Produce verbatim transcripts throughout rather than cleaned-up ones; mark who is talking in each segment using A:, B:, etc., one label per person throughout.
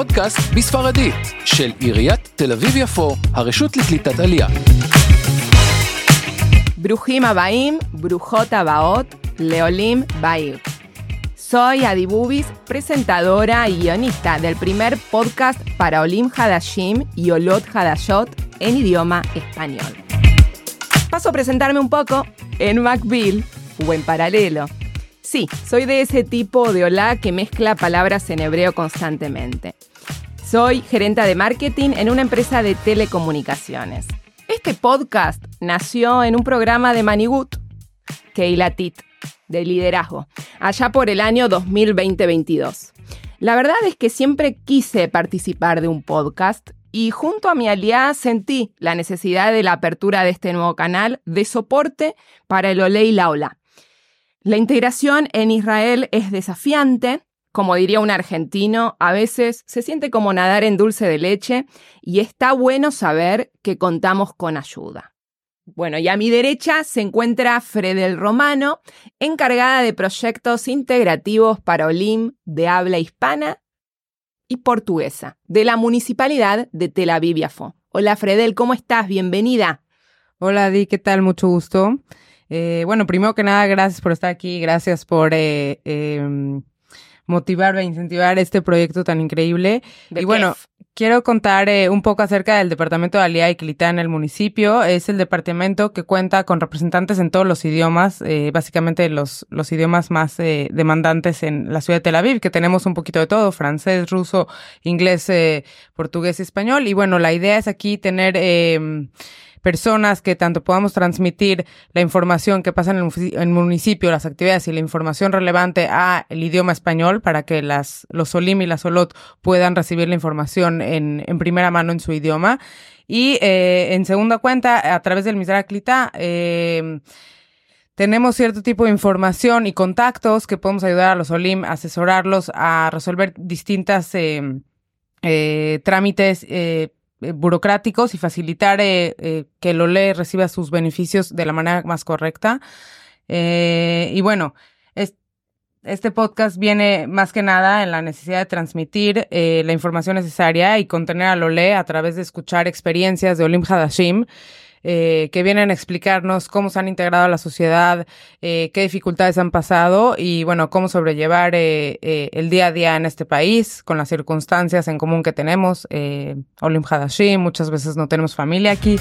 A: פודקאסט בספרדית של עיריית תל אביב-יפו, הרשות לקליטת עלייה.
B: Brujín Abaim, Brujot Abaot, Leolim Bair. Soy Adi Bubis, presentadora y guionista del primer podcast para Olim Hadashim y Olot Hadashot en idioma español. Paso a presentarme un poco en Macbil o en paralelo. Sí, soy de ese tipo de hola que mezcla palabras en hebreo constantemente. Soy gerente de marketing en una empresa de telecomunicaciones. Este podcast nació en un programa de Manigut, Keilatit, de liderazgo, allá por el año dos mil veinte veintidós. La verdad es que siempre quise participar de un podcast y junto a mi aliada sentí la necesidad de la apertura de este nuevo canal de soporte para el Olé y la Olá. La integración en Israel es desafiante, como diría un argentino, a veces se siente como nadar en dulce de leche y está bueno saber que contamos con ayuda. Bueno, y a mi derecha se encuentra Fredel Romano, encargada de proyectos integrativos para Olim de habla hispana y portuguesa, de la Municipalidad de Tel Aviv-Yafo. Hola Fredel, ¿cómo estás? Bienvenida.
C: Hola Adi, ¿qué tal? Mucho gusto. Eh, bueno, primero que nada, gracias por estar aquí, gracias por eh, eh, motivar e incentivar este proyecto tan increíble.
B: ¿De
C: y bueno,
B: qué?
C: quiero contar eh, un poco acerca del Departamento de Aliyá y Klitá en el municipio. Es el departamento que cuenta con representantes en todos los idiomas, eh, básicamente los, los idiomas más eh, demandantes en la ciudad de Tel Aviv, que tenemos un poquito de todo, francés, ruso, inglés, eh, portugués y español. Y bueno, la idea es aquí tener Eh, personas que tanto podamos transmitir la información que pasa en el, en el municipio, las actividades y la información relevante a el idioma español para que las, los Olim y las Olot puedan recibir la información en, en primera mano en su idioma. Y eh, en segunda cuenta, a través del Misra Klitá, eh, tenemos cierto tipo de información y contactos que podemos ayudar a los Olim, asesorarlos a resolver distintas eh, eh, trámites eh, burocráticos y facilitar eh, eh, que el Olé reciba sus beneficios de la manera más correcta. Eh, y bueno, es, este podcast viene más que nada en la necesidad de transmitir eh, la información necesaria y contener al Olé a través de escuchar experiencias de Olim Hadashim, Eh, que vienen a explicarnos cómo se han integrado a la sociedad, eh, qué dificultades han pasado y, bueno, cómo sobrellevar eh, eh, el día a día en este país con las circunstancias en común que tenemos. Eh, Olim Hadashim, muchas veces no tenemos familia aquí.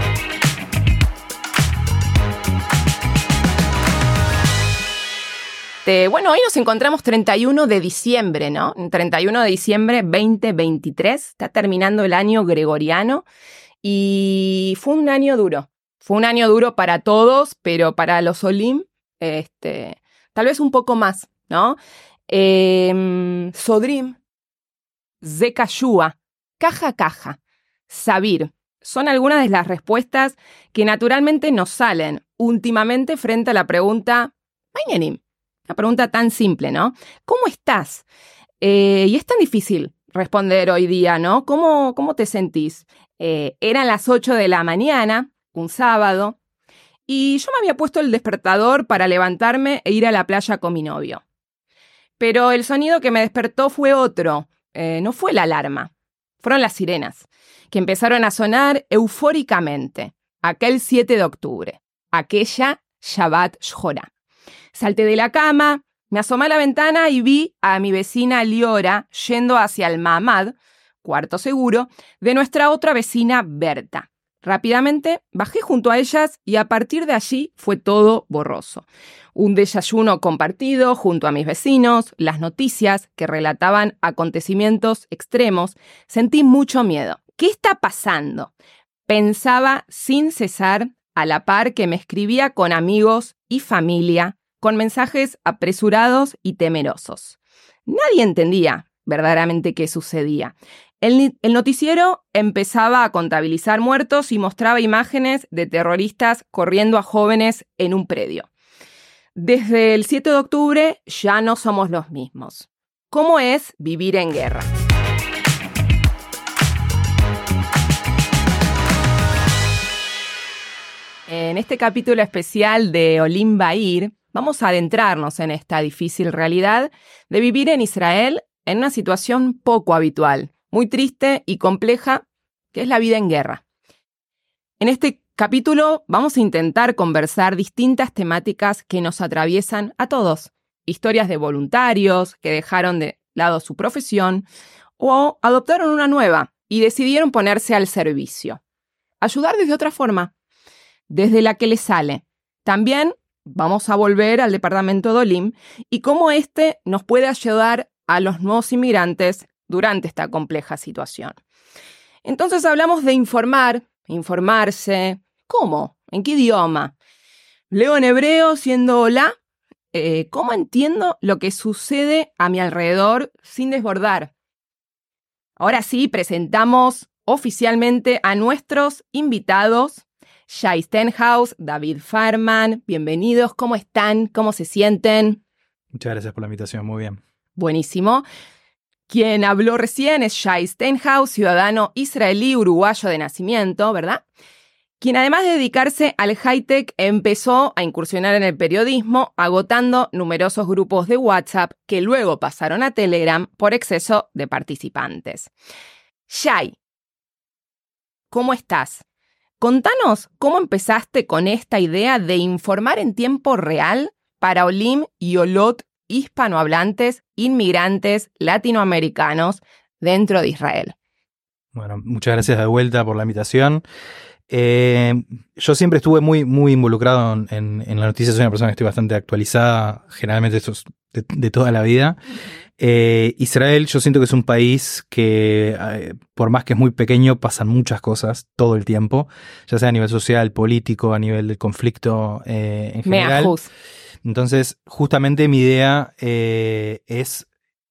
B: Eh, bueno, hoy nos encontramos treinta y uno de diciembre, ¿no? treinta y uno de diciembre veinte veintitrés, está terminando el año gregoriano. Y fue un año duro, fue un año duro para todos, pero para los Olim, este, tal vez un poco más, ¿no? Eh, Sodrim, Zekashua, Caja Caja, Sabir, son algunas de las respuestas que naturalmente nos salen últimamente frente a la pregunta, Mañanim, una pregunta tan simple, ¿no? ¿Cómo estás? Eh, y es tan difícil responder hoy día, ¿no? ¿Cómo, cómo te sentís? Eh, eran las ocho de la mañana, un sábado, y yo me había puesto el despertador para levantarme e ir a la playa con mi novio. Pero el sonido que me despertó fue otro, eh, no fue la alarma, fueron las sirenas, que empezaron a sonar eufóricamente, aquel siete de octubre, aquella Shabbat Shhorá. Salté de la cama, me asomé a la ventana y vi a mi vecina Liora yendo hacia el Mahamad, cuarto seguro, de nuestra otra vecina Berta. Rápidamente bajé junto a ellas y a partir de allí fue todo borroso. Un desayuno compartido junto a mis vecinos, las noticias que relataban acontecimientos extremos. Sentí mucho miedo. ¿Qué está pasando? Pensaba sin cesar, a la par que me escribía con amigos y familia, con mensajes apresurados y temerosos. Nadie entendía verdaderamente qué sucedía. El, el noticiero empezaba a contabilizar muertos y mostraba imágenes de terroristas corriendo a jóvenes en un predio. Desde el siete de octubre ya no somos los mismos. ¿Cómo es vivir en guerra? En este capítulo especial de Olim Bair, vamos a adentrarnos en esta difícil realidad de vivir en Israel en una situación poco habitual, muy triste y compleja, que es la vida en guerra. En este capítulo vamos a intentar conversar distintas temáticas que nos atraviesan a todos. Historias de voluntarios que dejaron de lado su profesión o adoptaron una nueva y decidieron ponerse al servicio. Ayudar desde otra forma, desde la que les sale. También vamos a volver al departamento de Olim y cómo este nos puede ayudar a los nuevos inmigrantes durante esta compleja situación. Entonces hablamos de informar, informarse. ¿Cómo? ¿En qué idioma? Leo en hebreo siendo hola. Eh, ¿Cómo entiendo lo que sucede a mi alrededor sin desbordar? Ahora sí, presentamos oficialmente a nuestros invitados. Shai Stenhouse, David Farman, bienvenidos. ¿Cómo están? ¿Cómo se sienten?
D: Muchas gracias por la invitación, muy bien.
B: Buenísimo. Quien habló recién es Shai Stenhouse, ciudadano israelí uruguayo de nacimiento, ¿verdad? Quien además de dedicarse al high-tech empezó a incursionar en el periodismo, agotando numerosos grupos de WhatsApp que luego pasaron a Telegram por exceso de participantes. Shai, ¿cómo estás? Contanos cómo empezaste con esta idea de informar en tiempo real para Olim y Olot hispanohablantes, inmigrantes latinoamericanos dentro de Israel.
D: Bueno, muchas gracias de vuelta por la invitación. Eh, yo siempre estuve muy, muy involucrado en, en, en la noticia, soy una persona que estoy bastante actualizada, generalmente esto es de, de toda la vida. Eh, Israel, yo siento que es un país que, eh, por más que es muy pequeño, pasan muchas cosas todo el tiempo, ya sea a nivel social, político, a nivel del conflicto eh, en general.
B: Me
D: Entonces, justamente mi idea eh, es,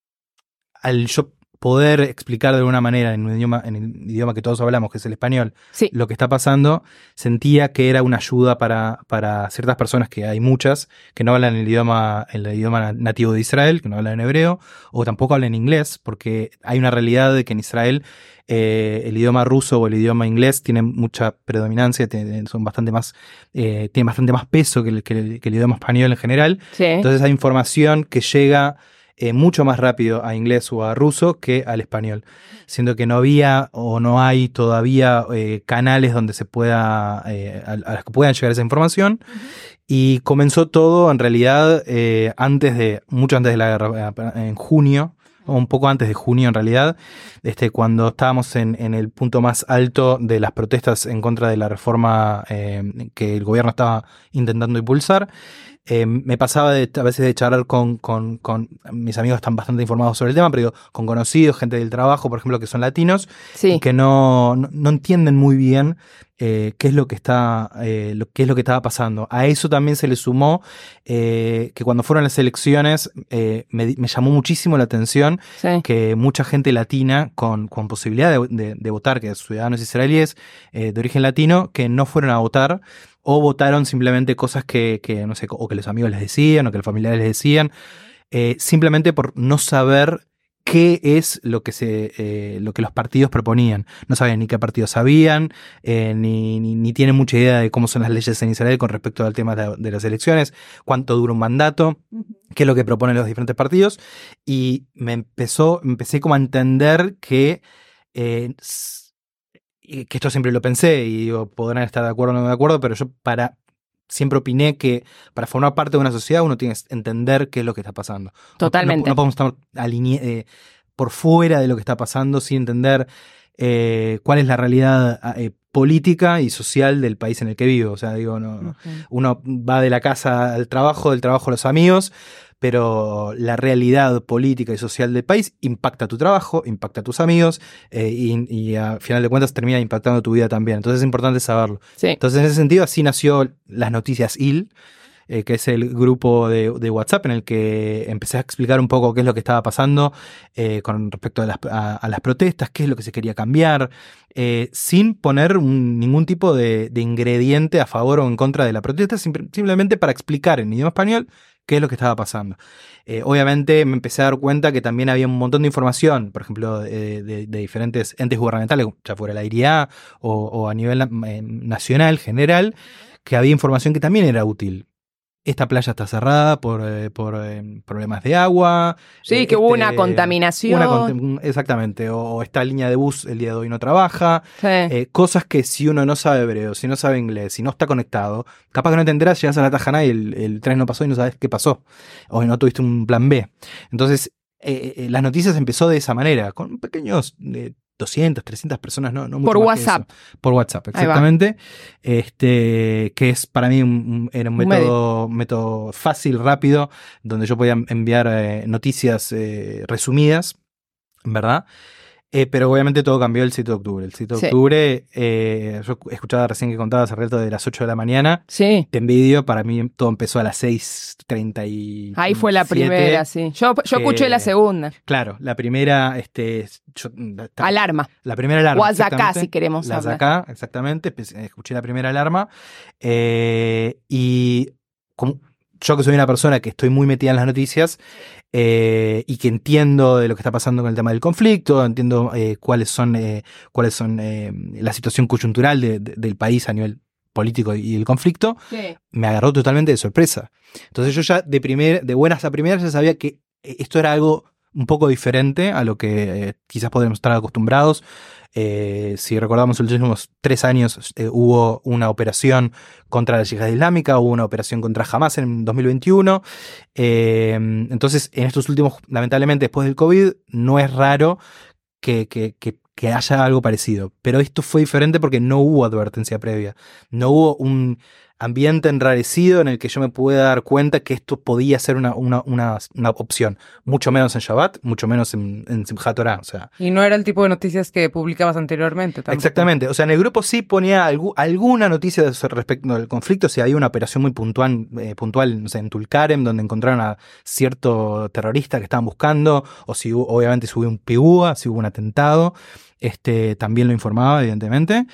D: al yo poder explicar de alguna manera en un idioma, en el idioma que todos hablamos, que es el español,
B: sí.
D: lo que está pasando, sentía que era una ayuda para, para ciertas personas, que hay muchas, que no hablan el idioma, el idioma nativo de Israel, que no hablan en hebreo, o tampoco hablan inglés, porque hay una realidad de que en Israel eh, el idioma ruso o el idioma inglés tienen mucha predominancia, tienen, son bastante más, eh, tienen bastante más peso que el, que, el, que el idioma español en general.
B: Sí.
D: Entonces hay información que llega Eh, mucho más rápido a inglés o a ruso que al español, siendo que no había o no hay todavía eh, canales donde se pueda eh, a, a los que puedan llegar esa información. Uh-huh. Y comenzó todo en realidad eh, antes de, mucho antes de la guerra, en junio, o un poco antes de junio en realidad, este, cuando estábamos en, en el punto más alto de las protestas en contra de la reforma eh, que el gobierno estaba intentando impulsar. Eh, me pasaba de, a veces de charlar con, con, con mis amigos, están bastante informados sobre el tema, pero digo, con conocidos, gente del trabajo, por ejemplo, que son latinos,
B: sí.
D: y que no, no, no entienden muy bien eh, qué es lo que está, eh, lo, qué es lo que estaba pasando. A eso también se le sumó eh, que cuando fueron las elecciones eh, me, me llamó muchísimo la atención
B: sí.
D: que mucha gente latina con, con posibilidad de, de, de votar, que ciudadanos israelíes eh, de origen latino, que no fueron a votar, o votaron simplemente cosas que, que, no sé, o que los amigos les decían, o que los familiares les decían, eh, simplemente por no saber qué es lo que se, eh, lo que los partidos proponían. No sabían ni qué partidos habían, eh, ni, ni, ni tienen mucha idea de cómo son las leyes en Israel con respecto al tema de, de las elecciones, cuánto dura un mandato, qué es lo que proponen los diferentes partidos, y me empezó, empecé como a entender que eh, que esto siempre lo pensé, y digo, podrán estar de acuerdo o no de acuerdo, pero yo para siempre opiné que para formar parte de una sociedad uno tiene que entender qué es lo que está pasando.
B: Totalmente.
D: No, no podemos estar aline- eh, por fuera de lo que está pasando sin entender eh, cuál es la realidad eh, política y social del país en el que vivo. O sea, digo, no, okay. Uno va de la casa al trabajo, del trabajo a los amigos, pero la realidad política y social del país impacta tu trabajo, impacta a tus amigos eh, y, y a final de cuentas termina impactando tu vida también. Entonces es importante saberlo.
B: Sí.
D: Entonces en ese sentido así nació Las Noticias I L, eh, que es el grupo de, de WhatsApp en el que empecé a explicar un poco qué es lo que estaba pasando eh, con respecto a las, a, a las protestas, qué es lo que se quería cambiar, eh, sin poner un, ningún tipo de, de ingrediente a favor o en contra de la protesta, sim- simplemente para explicar en idioma español qué es lo que estaba pasando. Eh, obviamente me empecé a dar cuenta que también había un montón de información, por ejemplo, de, de, de diferentes entes gubernamentales, ya fuera la I R I A o, o a nivel eh, nacional, general, que había información que también era útil. esta playa está cerrada por, eh, por eh, problemas de agua.
B: Sí,
D: eh,
B: que hubo
D: este,
B: una contaminación.
D: Una cont- exactamente, o, o esta línea de bus el día de hoy no trabaja.
B: Sí.
D: Eh, cosas que si uno no sabe hebreo, si no sabe inglés, si no está conectado, capaz que no te enterás, llegas a la Tajana y el, el tren no pasó y no sabes qué pasó. O no tuviste un plan B. Entonces, eh, eh, las noticias empezó de esa manera, con pequeños... Eh, doscientas, trescientas personas, no, no mucho
B: Por
D: más que
B: WhatsApp.
D: eso. Por WhatsApp, exactamente. Este, que es para mí un, un- era un
B: Un
D: método, método fácil, rápido, donde yo podía enviar eh, noticias eh, resumidas, ¿verdad? Eh, pero obviamente todo cambió el siete de octubre. El siete de
B: Sí.
D: octubre, eh, yo escuchaba recién que contabas hace rato de las ocho de la mañana.
B: Sí.
D: Te envidio, para mí todo empezó a las seis treinta y
B: Ahí fue la
D: siete.
B: primera, sí. Yo, yo
D: que-
B: escuché la segunda.
D: Claro, la primera, este, yo-
B: Alarma.
D: la primera alarma.
B: O Azacá,
D: exactamente.
B: si queremos
D: La
B: hablar.
D: Azacá, exactamente. Empe- Escuché la primera alarma. eh, y como yo que soy una persona que estoy muy metida en las noticias eh, y que entiendo de lo que está pasando con el tema del conflicto, entiendo eh, cuáles son, eh, cuáles son eh, la situación coyuntural de- de- del país a nivel político y el conflicto,
B: Sí.
D: me agarró totalmente de sorpresa. Entonces yo ya de, primer, de buenas a primeras ya sabía que esto era algo un poco diferente a lo que eh, quizás podemos estar acostumbrados. Eh, si recordamos los últimos tres años eh, hubo una operación contra la yihad islámica, hubo una operación contra Hamas en dos mil veintiuno. Eh, entonces en estos últimos, lamentablemente después del COVID, no es raro que, que, que, que haya algo parecido. Pero esto fue diferente porque no hubo advertencia previa. No hubo un ambiente enrarecido en el que yo me pueda dar cuenta que esto podía ser una, una, una, una opción. Mucho menos en Shabbat, mucho menos en, en Simchat Torah. O sea,
C: Y no era el tipo de noticias que publicabas anteriormente. Tampoco.
D: exactamente. O sea, en el grupo sí ponía algu- alguna noticia de- respecto al conflicto. Si había una operación muy puntual, eh, puntual no sé, en Tulkarem, donde encontraron a cierto terrorista que estaban buscando, o si hubo- obviamente si hubo un pigúa, si hubo un atentado, este, también lo informaba, evidentemente.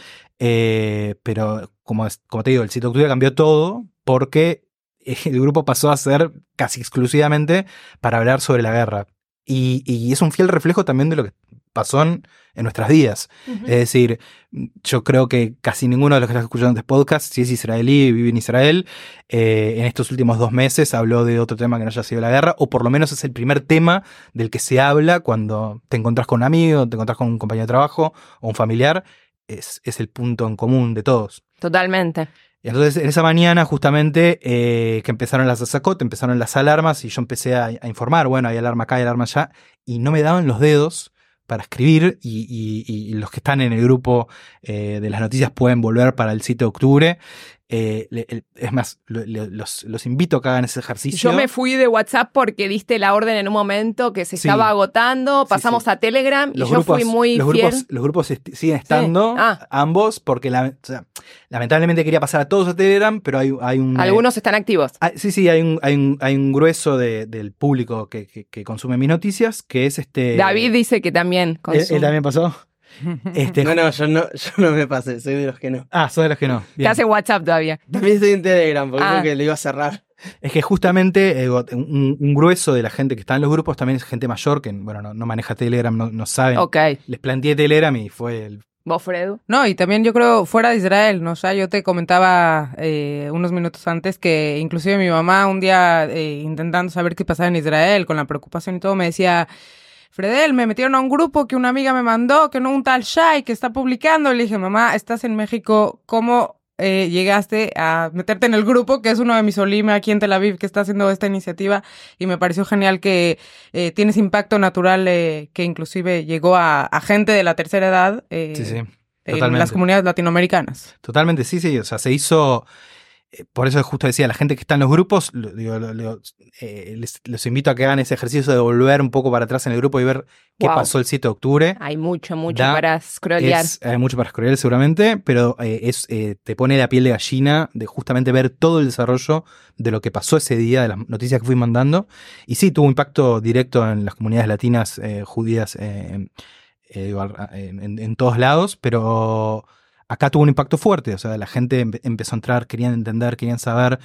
D: Eh, pero como, es- como te digo, el siete de octubre cambió todo porque el grupo pasó a ser casi exclusivamente para hablar sobre la guerra. Y, y es un fiel reflejo también de lo que pasó en, en nuestras vidas.
B: Ujú.
D: Es decir, yo creo que casi ninguno de los que está escuchando este podcast, si es israelí y vive en Israel, eh, en estos últimos dos meses habló de otro tema que no haya sido la guerra, o por lo menos es el primer tema del que se habla cuando te encontrás con un amigo, te encontrás con un compañero de trabajo o un familiar. Es, es el punto en común de todos.
B: Totalmente.
D: Y entonces en esa mañana justamente eh, que empezaron las azakot, empezaron las alarmas y yo empecé a, a informar, bueno, hay alarma acá, hay alarma allá, y no me daban los dedos para escribir y, y- y los que están en el grupo eh, de las noticias pueden volver para el siete de octubre. Eh, le- el- es más, lo- lo- los, los invito a que hagan ese ejercicio.
B: Yo me fui de WhatsApp porque diste la orden en un momento que se
D: Sí.
B: estaba agotando,
D: Sí,
B: pasamos
D: sí.
B: a Telegram y
D: Los
B: yo
D: grupos,
B: fui muy
D: los
B: fiel.
D: grupos, los grupos est- siguen estando,
B: Ah.
D: ambos, porque la- o sea, lamentablemente quería pasar a todos a Telegram, pero hay, hay un... eh,
B: Algunos están activos.
D: Ah, sí, sí, hay un, hay un, hay un grueso de- del público que, que- que consume mis noticias, que es este...
B: David dice que también
D: ¿Él,
B: consume.
D: él también pasó? Este,
E: No, no, yo no, yo no me pasé, soy de los que no.
D: Ah, sos de los que no.
B: Que
D: Bien.
B: hace WhatsApp todavía.
E: También estoy en Telegram, porque
B: Ah.
E: creo que le iba a cerrar.
D: Es que justamente eh, un, un grueso de la gente que está en los grupos también es gente mayor que, bueno, no, no maneja Telegram, no, no saben.
B: Ok.
D: Les planteé Telegram y fue el...
B: ¿Vos, Fredu?
C: No, y también yo creo fuera de Israel, ¿no? O sea, yo te comentaba eh, unos minutos antes que inclusive mi mamá un día eh, intentando saber qué pasaba en Israel, con la preocupación y todo, me decía, Fredel, me metieron a un grupo que una amiga me mandó, que no un tal Shai que está publicando. Le dije, mamá, estás en México, ¿cómo eh, llegaste a meterte en el grupo, que es uno de mis Olim aquí en Tel Aviv, que está haciendo esta iniciativa? Y me pareció genial que eh, tienes impacto natural, eh, que inclusive llegó a, a gente de la tercera edad. Eh,
D: Sí, sí,
C: en
D: totalmente.
C: las comunidades latinoamericanas.
D: Totalmente, sí, sí. O sea, se hizo... eh, Por eso justo decía, la gente que está en los grupos, lo- digo, lo- lo- eh, les, los invito a que hagan ese ejercicio de volver un poco para atrás en el grupo y ver qué
B: Wow.
D: pasó el siete de octubre.
B: Hay mucho, mucho
D: Da-
B: para scrollear.
D: Es, hay mucho para scrollear seguramente, pero eh, es, eh, te pone la piel de gallina de justamente ver todo el desarrollo de lo que pasó ese día, de las noticias que fui mandando. Y sí, tuvo impacto directo en las comunidades latinas, eh, judías, eh, eh, digo, al- en, en- en todos lados, pero acá tuvo un impacto fuerte. O sea, la gente empe- empezó a entrar, querían entender, querían saber.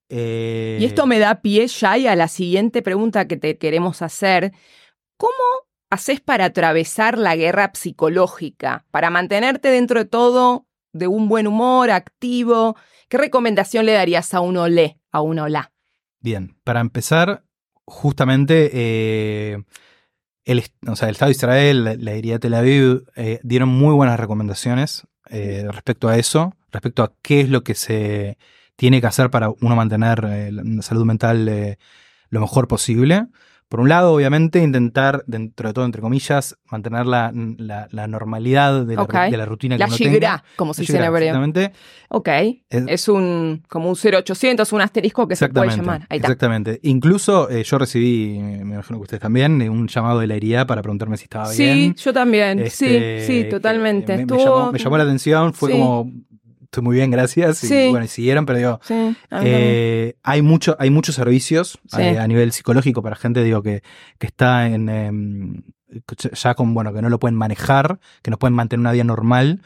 D: eh,
B: Y esto me da pie, Shai, a la siguiente pregunta que te queremos hacer. ¿Cómo haces para atravesar la guerra psicológica? Para mantenerte dentro de todo de un buen humor, activo. ¿Qué recomendación le darías a un olé, a un olá?
D: Bien, para empezar, justamente eh, el, o sea, el Estado de Israel, la, la Iria Tel Aviv, eh, dieron muy buenas recomendaciones eh, respecto a eso, respecto a qué es lo que se tiene que hacer para uno mantener eh, la salud mental eh, lo mejor posible. Por un lado, obviamente, intentar, dentro de todo, entre comillas, mantener la, la, la normalidad de la,
B: Okay.
D: de la rutina que
B: La
D: uno
B: shigrá,
D: tenga.
B: como se
D: La
B: dice en
D: shigrá,
B: hebreo.
D: exactamente.
B: Ok,
D: Es-
B: es un como un cero ochocientos, un asterisco que se puede
D: Exactamente,
B: llamar. Ahí está.
D: exactamente. Incluso eh, yo recibí, me imagino que ustedes también, eh, un llamado de la Iria para preguntarme si estaba
B: Sí,
D: bien.
B: yo también.
D: Este,
B: sí, sí,
D: que
B: totalmente.
D: Me, me
B: Estuvo...
D: llamó, me llamó la atención, fue
B: Sí.
D: como, estoy muy bien, gracias. Y
B: Sí.
D: bueno, y siguieron, pero digo,
B: Sí, a mí también.
D: eh, hay, mucho, hay muchos servicios
B: Sí.
D: eh, a nivel psicológico para gente, digo, que, que está en em, ya con, bueno, que no lo pueden manejar, que no pueden mantener una vida normal.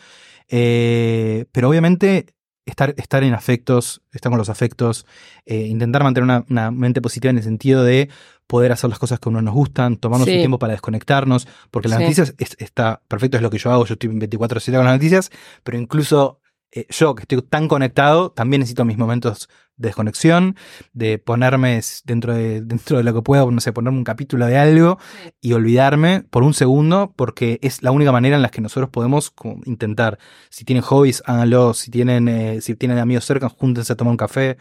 D: Eh, pero obviamente estar, estar en afectos, estar con los afectos, eh, intentar mantener una, una mente positiva en el sentido de poder hacer las cosas que a uno nos gustan, tomarnos
B: Sí.
D: un tiempo para desconectarnos, porque las
B: Sí.
D: noticias es- está perfecto, es lo que yo hago, yo estoy veinticuatro siete con las noticias, pero incluso eh, yo que estoy tan conectado, también necesito mis momentos de desconexión, de ponerme s- dentro de, dentro de lo que puedo, no sé, ponerme un capítulo de algo y olvidarme por un segundo, porque es la única manera en la que nosotros podemos como, intentar. Si tienen hobbies, háganlo. Si tienen, eh, si tienen amigos cerca, júntense a tomar un café.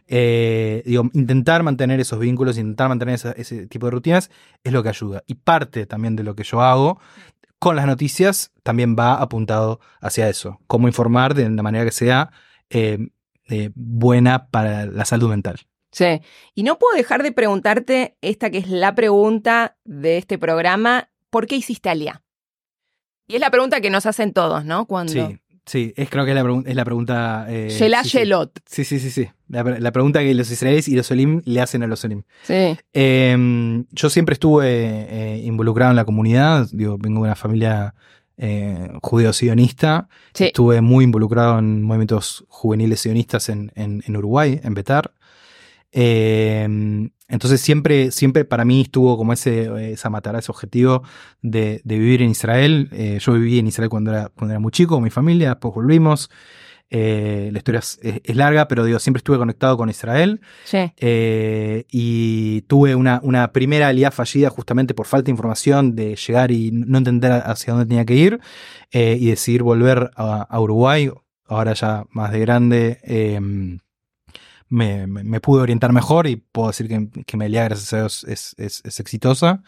D: Eh, digo, intentar mantener esos vínculos, intentar mantener esa- ese tipo de rutinas es lo que ayuda. Y parte también de lo que yo hago con las noticias también va apuntado hacia eso. Cómo informar de la manera que sea eh, eh, buena para la salud mental.
B: Sí. Y no puedo dejar de preguntarte esta que es la pregunta de este programa. ¿Por qué hiciste Aliyah? Y es la pregunta que nos hacen todos, ¿no? Cuando...
D: Sí, sí, es, creo que es la, pregun- es la pregunta... Eh,
B: Shelah
D: sí, sí.
B: Shelot.
D: Sí, sí, sí, sí. La, la pregunta que los israelíes y los olim le hacen a los olim.
B: Sí.
D: Eh, yo siempre estuve eh, involucrado en la comunidad. Digo, vengo de una familia eh, judeo-sionista.
B: Sí.
D: Estuve muy involucrado en movimientos juveniles sionistas en, en, en Uruguay, en Betar. Eh, entonces siempre, siempre para mí estuvo como ese, esa matara, ese objetivo de, de vivir en Israel. Eh, yo viví en Israel cuando era, cuando era muy chico con mi familia, después volvimos. Eh, la historia es, es- es larga, pero digo, siempre estuve conectado con Israel.
B: Sí.
D: Eh, y tuve una, una primera aliyah fallida justamente por falta de información, de llegar y no entender hacia dónde tenía que ir, eh, y decidir volver a, a Uruguay, ahora ya más de grande. eh, me, me- me pude orientar mejor y puedo decir que, que mi aliyah, gracias a Dios, es, es- es exitosa.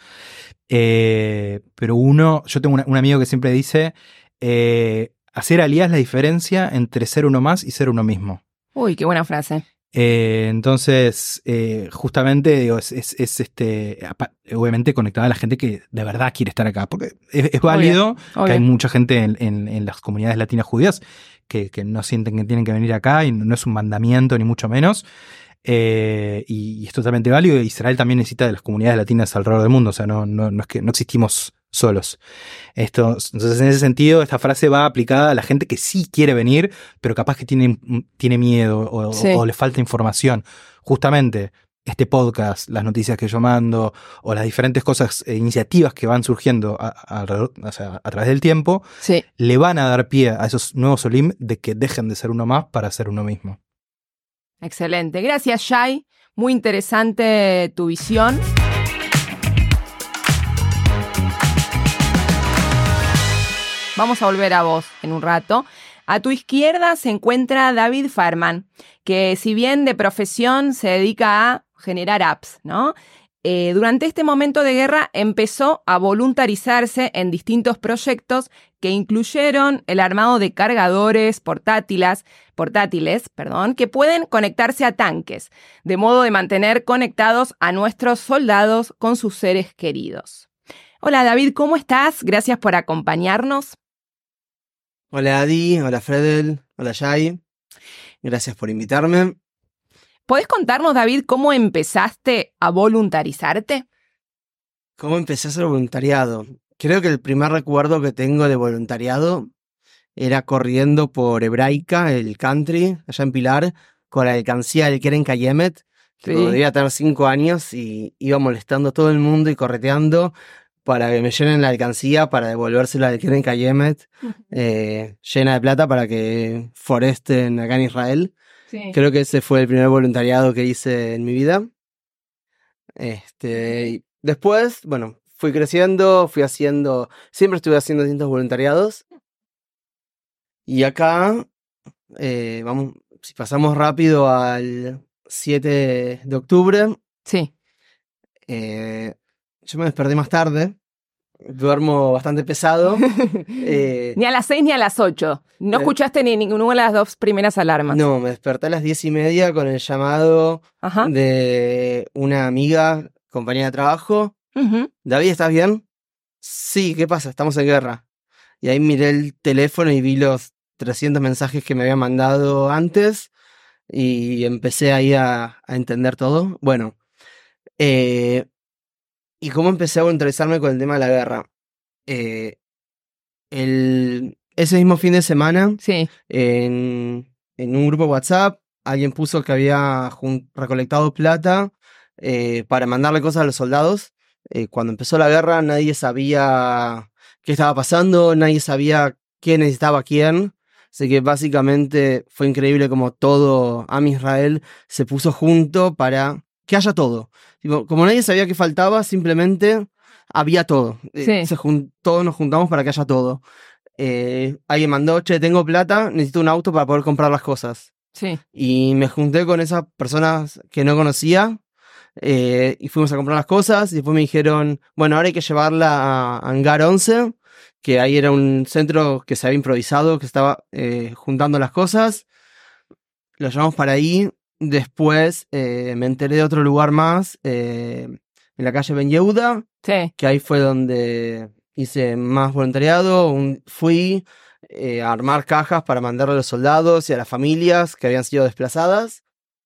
D: Eh, pero uno, yo tengo una- un amigo que siempre dice, eh, hacer aliyah es la diferencia entre ser uno más y ser uno mismo.
B: Uy, qué buena frase.
D: Eh, entonces, eh, justamente, digo, es, es- es, este, apa- obviamente conectada a la gente que de verdad quiere estar acá, porque es, es válido
B: Obvio.
D: que hay mucha gente en, en- en las comunidades latinas judías que, que no sienten que tienen que venir acá y no es un mandamiento ni mucho menos. Eh, y, y es totalmente válido. Israel también necesita de las comunidades latinas alrededor del mundo, o sea, no, no, no es que no existimos solos. Esto, entonces, en ese sentido, esta frase va aplicada a la gente que sí quiere venir, pero capaz que tiene, tiene miedo o,
B: Sí.
D: o le falta información. Justamente, este podcast, las noticias que yo mando, o las diferentes cosas, e iniciativas que van surgiendo a, a- alrededor- o sea, a través del tiempo,
B: Sí.
D: le van a dar pie a esos nuevos Olim de que dejen de ser uno más para ser uno mismo.
B: Excelente. Gracias, Shai. Muy interesante tu visión. Vamos a volver a vos en un rato. A tu izquierda se encuentra David Farman, que si bien de profesión se dedica a generar apps, ¿no? Eh, durante este momento de guerra empezó a voluntarizarse en distintos proyectos que incluyeron el armado de cargadores portátiles, portátiles, perdón, que pueden conectarse a tanques, de modo de mantener conectados a nuestros soldados con sus seres queridos. Hola David, ¿cómo estás? Gracias por acompañarnos.
E: Hola Adi, hola Fredel, hola Jai. Gracias por invitarme.
B: ¿Podés contarnos, David, cómo empezaste a voluntarizarte?
E: ¿Cómo empecé a hacer voluntariado? Creo que el primer recuerdo que tengo de voluntariado era corriendo por Hebraica, el country, allá en Pilar, con la alcancía del Keren Kayemet.
B: Sí.
E: Debía tener cinco años y iba molestando a todo el mundo y correteando para que me llenen la alcancía para devolvérsela al Keren Kayemet, eh, llena de plata para que foresten acá en Israel.
B: Sí.
E: Creo que ese fue el primer voluntariado que hice en mi vida. Este, y después, bueno, fui creciendo, fui haciendo, siempre estuve haciendo distintos voluntariados. Y acá, eh, vamos, si pasamos rápido al siete de octubre,
B: Sí.
E: eh, yo me desperté más tarde, duermo bastante pesado. eh,
B: Ni a las seis ni a las ocho. No
E: Eh,
B: escuchaste ni ninguna de las dos primeras alarmas.
E: no, me desperté a las diez y media con el llamado
B: Ajá.
E: de una amiga, compañera de trabajo.
B: Ujú.
E: David, ¿estás bien? Sí, ¿qué pasa? Estamos en guerra. Y ahí miré el teléfono y vi los trescientos mensajes que me habían mandado antes y empecé ahí a, a entender todo. Bueno, eh, ¿y cómo empecé a voluntarizarme con el tema de la guerra? Eh, el, ese mismo fin de semana,
B: Sí.
E: en, en un grupo de WhatsApp, alguien puso que había jun- recolectado plata eh, para mandarle cosas a los soldados. Eh, cuando empezó la guerra nadie sabía qué estaba pasando, nadie sabía quién necesitaba a quién. Así que básicamente fue increíble como todo Am Israel se puso junto para que haya todo. Tipo, como nadie sabía qué faltaba, simplemente había todo. Eh,
B: Sí.
E: se jun- todos nos juntamos para que haya todo. Eh, alguien mandó, che, tengo plata, necesito un auto para poder comprar las cosas.
B: Sí.
E: Y me junté con esas personas que no conocía eh, y fuimos a comprar las cosas y después me dijeron, bueno, ahora hay que llevarla a Hangar once, que ahí era un centro que se había improvisado, que estaba eh, juntando las cosas. Lo llevamos para ahí. Después eh, me enteré de otro lugar más, eh, en la calle Ben Yehuda,
B: Sí.
E: que ahí fue donde hice más voluntariado. Un- fui eh, a armar cajas para mandarle a los soldados y a las familias que habían sido desplazadas.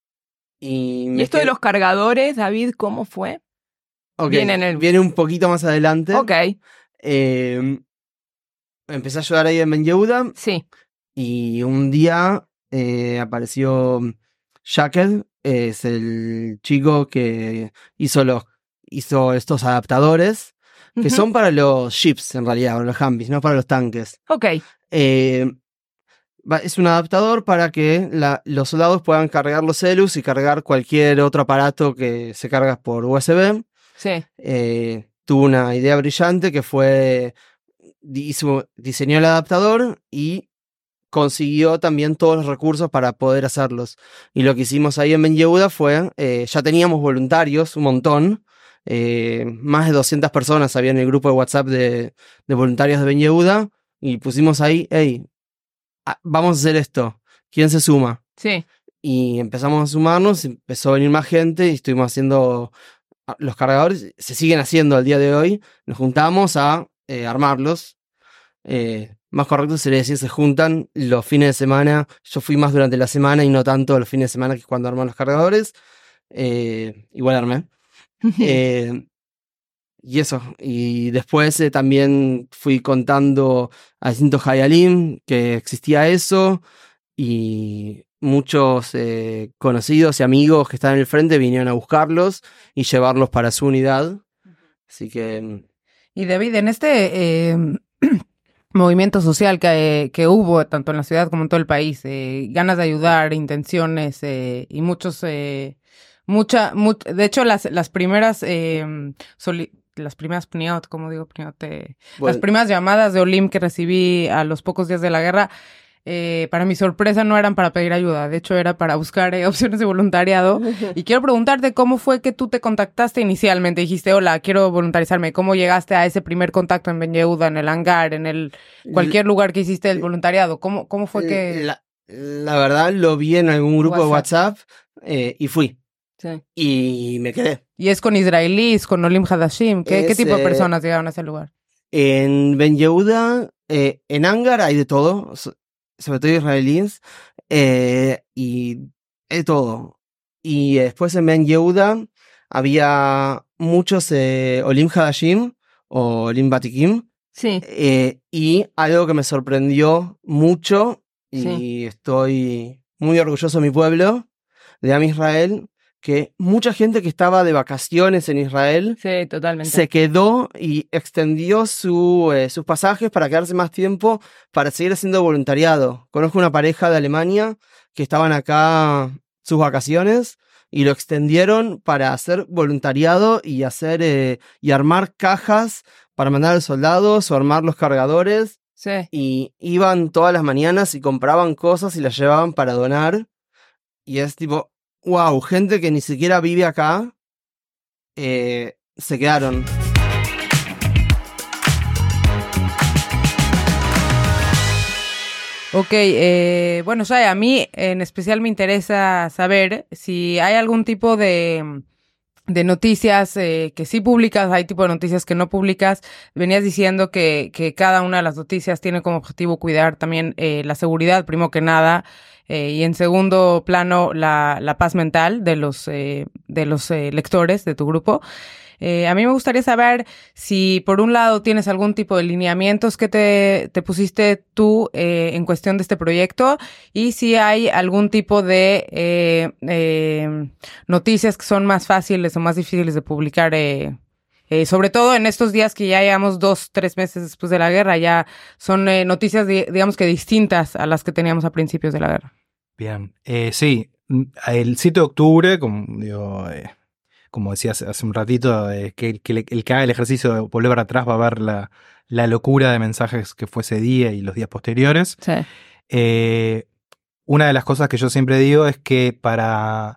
E: Y,
B: ¿Y
E: me
B: esto de
E: qued-
B: los cargadores, David, cómo fue?
E: Ok,
B: viene en el-
E: viene un poquito más adelante.
B: Ok.
E: Eh, empecé a ayudar ahí en Ben Yehuda
B: Sí.
E: y un día eh, apareció Shackle, es el chico que hizo los hizo estos adaptadores que
B: Ujú.
E: son para los ships en realidad, para los Humvees, no para los tanques.
B: Ok.
E: Eh, va- es un adaptador para que la- los soldados puedan cargar los celus y cargar cualquier otro aparato que se carga por U S B.
B: Sí.
E: Eh, tuvo una idea brillante que fue, hizo- diseñó el adaptador y consiguió también todos los recursos para poder hacerlos. Y lo que hicimos ahí en Ben Yehuda fue, eh, ya teníamos voluntarios, un montón, eh, más de doscientas personas había en el grupo de WhatsApp de, de voluntarios de Ben Yehuda, y pusimos ahí, hey, ah, vamos a hacer esto, ¿quién se suma?
B: Sí.
E: Y empezamos a sumarnos, empezó a venir más gente y estuvimos haciendo ah, los cargadores, se siguen haciendo al día de hoy, nos juntamos a eh, armarlos. Eh, más correcto sería decir, se juntan los fines de semana. Yo fui más durante la semana y no tanto los fines de semana, que es cuando arman los cargadores. Eh, igual armé. Eh, y eso. Y después eh, también fui contando a distintos Hayalim que existía eso. Y muchos eh, conocidos y amigos que estaban en el frente vinieron a buscarlos y llevarlos para su unidad. Así que
C: Y David, en este eh, movimiento social que, que hubo tanto en la ciudad como en todo el país, eh, ganas de ayudar, intenciones eh, y muchos, eh, mucha, much- de hecho las, las primeras, eh, soli- las primeras pniot, como digo, pniot, eh, las
E: bueno,
C: primeras llamadas de Olim que recibí a los pocos días de la guerra, eh, para mi sorpresa no eran para pedir ayuda, de hecho era para buscar eh, opciones de voluntariado. Y quiero preguntarte cómo fue que tú te contactaste inicialmente. Dijiste, hola, quiero voluntarizarme. ¿Cómo llegaste a ese primer contacto en Ben Yehuda, en el hangar, en el cualquier lugar que hiciste el voluntariado? ¿Cómo, cómo fue que...?
E: La, la verdad lo vi en algún grupo
C: WhatsApp.
E: de WhatsApp eh, y fui.
B: Sí.
E: Y me quedé.
C: ¿Y es con israelíes, con Olim Hadashim? ¿Qué, ¿qué
E: Es,
C: tipo de
E: eh,
C: personas llegaron a ese lugar?
E: En Ben Yehuda, eh, en Hangar hay de todo, so- sobre todo israelíes, eh, y de todo. Y después en Ben Yehuda había muchos eh, Olim Hadashim o Olim Batikim,
B: Sí.
E: eh, y algo que me sorprendió mucho, y
B: Sí.
E: estoy muy orgulloso de mi pueblo, de Am Israel, que mucha gente que estaba de vacaciones en Israel
B: Sí, totalmente.
E: se quedó y extendió su, eh, sus pasajes para quedarse más tiempo para seguir haciendo voluntariado. Conozco una pareja de Alemania que estaban acá sus vacaciones y lo extendieron para hacer voluntariado y hacer eh, y armar cajas para mandar a los soldados o armar los cargadores.
B: Sí.
E: Y iban todas las mañanas y compraban cosas y las llevaban para donar. Y es tipo, wow, gente que ni siquiera vive acá, eh, se quedaron.
C: Ok, eh, bueno, Shai, a mí en especial me interesa saber si hay algún tipo de, de noticias eh, que sí publicas, hay tipo de noticias que no publicas. Venías diciendo que, que cada una de las noticias tiene como objetivo cuidar también eh, la seguridad, primero que nada, eh, y en segundo plano la, la paz mental de los, eh, de los eh, lectores de tu grupo. Eh, a mí me gustaría saber si por un lado tienes algún tipo de lineamientos que te, te pusiste tú eh, en cuestión de este proyecto y si hay algún tipo de eh, eh, noticias que son más fáciles o más difíciles de publicar, eh, eh, sobre todo en estos días que ya llevamos dos, tres meses después de la guerra, ya son eh, noticias di- digamos que distintas a las que teníamos a principios de la guerra.
D: Bien, eh, sí, el siete de octubre, como digo... Eh... como decías hace un ratito, eh, que, que le, el que haga el ejercicio de volver para atrás va a ver la, la locura de mensajes que fue ese día y los días posteriores.
B: Sí.
D: Eh, una de las cosas que yo siempre digo es que para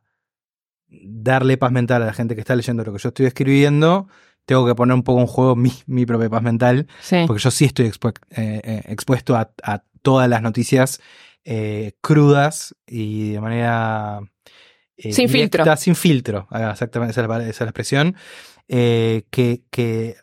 D: darle paz mental a la gente que está leyendo lo que yo estoy escribiendo, tengo que poner un poco en juego mi, mi propia paz mental,
B: Sí.
D: porque yo sí estoy expu- eh, eh, expuesto a, a todas las noticias eh, crudas y de manera... Eh,
B: Sin
D: directa,
B: filtro.
D: Sin filtro, ah, exactamente, esa es la, esa es la expresión. Eh, que, que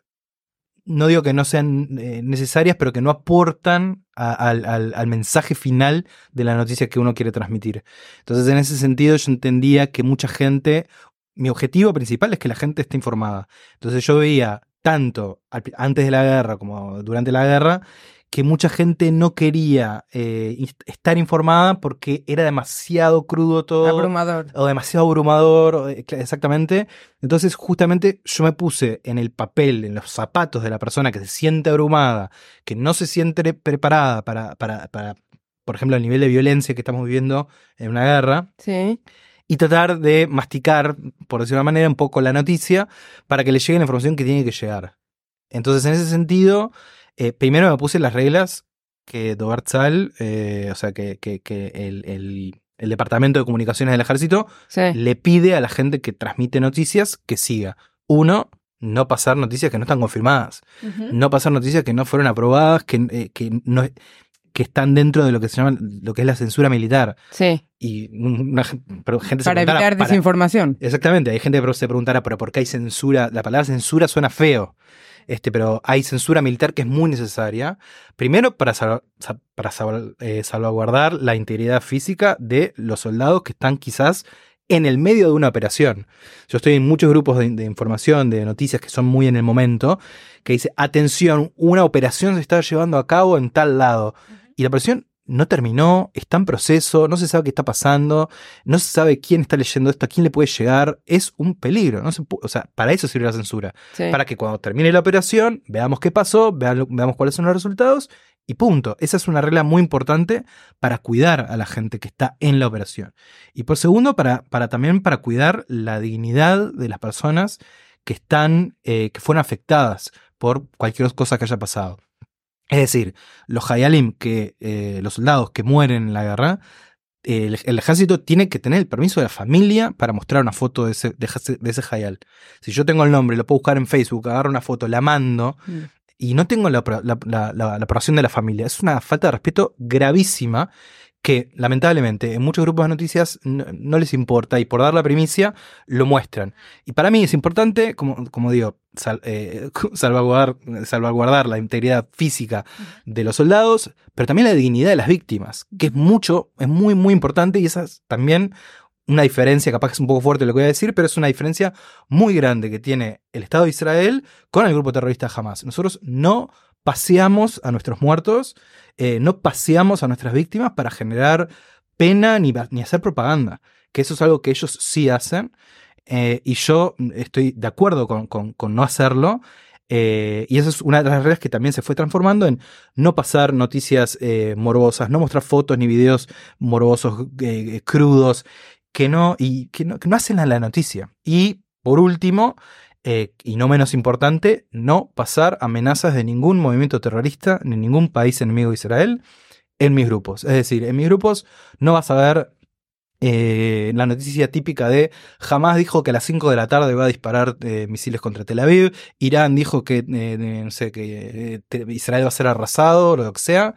D: no digo que no sean eh, necesarias, pero que no aportan a, al, al, al mensaje final de la noticia que uno quiere transmitir. Entonces, en ese sentido, yo entendía que mucha gente, mi objetivo principal es que la gente esté informada. Entonces, yo veía tanto al, antes de la guerra como durante la guerra, que mucha gente no quería eh, estar informada porque era demasiado crudo todo.
C: Abrumador.
D: O demasiado abrumador, exactamente. Entonces, justamente, yo me puse en el papel, en los zapatos de la persona que se siente abrumada, que no se siente preparada para, para, para por ejemplo, el nivel de violencia que estamos viviendo en una guerra.
B: Sí.
D: Y tratar de masticar, por decirlo de una manera, un poco la noticia para que le llegue la información que tiene que llegar. Entonces, en ese sentido... Eh, primero me puse las reglas que Dobart Sal, eh, o sea, que, que, que el, el, el Departamento de Comunicaciones del Ejército
B: Sí.
D: le pide a la gente que transmite noticias que siga. Uno, no pasar noticias que no están confirmadas.
B: Uh-huh.
D: No pasar noticias que no fueron aprobadas, que, eh, que, no, que están dentro de lo que se llama, lo que es la censura militar.
B: Sí.
D: Y una, pero gente
C: Para
D: se
C: evitar
D: para,
C: desinformación.
D: Exactamente, hay gente que se preguntará, pero ¿por qué hay censura? La palabra censura suena feo. Este, pero hay censura militar que es muy necesaria. Primero, para, sal, para sal, eh, salvaguardar la integridad física de los soldados que están quizás en el medio de una operación. Yo estoy en muchos grupos de, de información, de noticias que son muy en el momento, que dice, atención, una operación se está llevando a cabo en tal lado. Uh-huh. Y la operación no terminó, está en proceso, no se sabe qué está pasando, no se sabe quién está leyendo esto, a quién le puede llegar, es un peligro, no se pu- o sea, para eso sirve la censura,
B: Sí.
D: para que cuando termine la operación veamos qué pasó, veamos, veamos cuáles son los resultados y punto. Esa es una regla muy importante para cuidar a la gente que está en la operación. Y por segundo, para, para también para cuidar la dignidad de las personas que están, eh, que fueron afectadas por cualquier cosa que haya pasado. Es decir, los Hayalim, que, eh, los soldados que mueren en la guerra, eh, el, el ejército tiene que tener el permiso de la familia para mostrar una foto de ese, de ese, de ese Hayal. Si yo tengo el nombre, lo puedo buscar en Facebook, agarro una foto, la mando, mm. y no tengo la, la, la, la, la aprobación de la familia. Es una falta de respeto gravísima que, lamentablemente, en muchos grupos de noticias no, no les importa y por dar la primicia lo muestran. Y para mí es importante, como, como digo, sal, eh, salvaguardar, salvaguardar la integridad física de los soldados, pero también la dignidad de las víctimas, que es mucho, es muy, muy importante, y esa es también una diferencia, capaz que es un poco fuerte lo que voy a decir, pero es una diferencia muy grande que tiene el Estado de Israel con el grupo terrorista Hamas. Nosotros no paseamos a nuestros muertos, eh, no paseamos a nuestras víctimas para generar pena ni, ni hacer propaganda. que eso es algo que ellos sí hacen, eh, y yo estoy de acuerdo con, con, con no hacerlo. Eh, y eso es una de las reglas que también se fue transformando en no pasar noticias eh, morbosas, no mostrar fotos ni videos morbosos, eh, crudos, que no, y que no, que no hacen a la noticia. Y por último, eh, y no menos importante, no pasar amenazas de ningún movimiento terrorista ni ningún país enemigo de Israel en mis grupos. Es decir, en mis grupos no vas a ver Eh, la noticia típica de Hamas dijo que a las cinco de la tarde va a disparar eh, misiles contra Tel Aviv, Irán dijo que, eh, no sé, que eh, Israel va a ser arrasado, o lo que sea,